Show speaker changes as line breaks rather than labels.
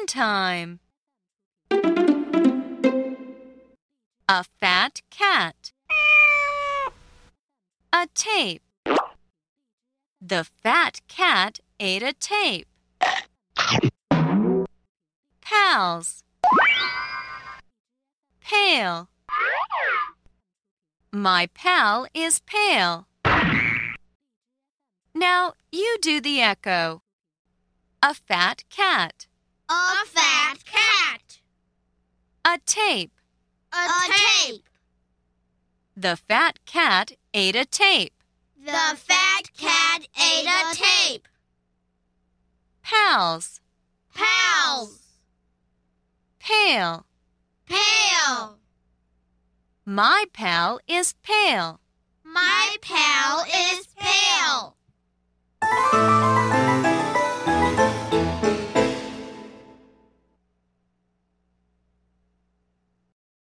fun time. A fat cat. A tape. The fat cat ate a tape. Pals. Pale. My pal is pale. Now you do the echo. A fat cat.
A fat cat.
A tape.
A tape.
The fat cat ate a tape.
The fat cat ate a tape.
Pals.
Pals.
Pale.
Pale.
My pal is pale.
My pal is pale.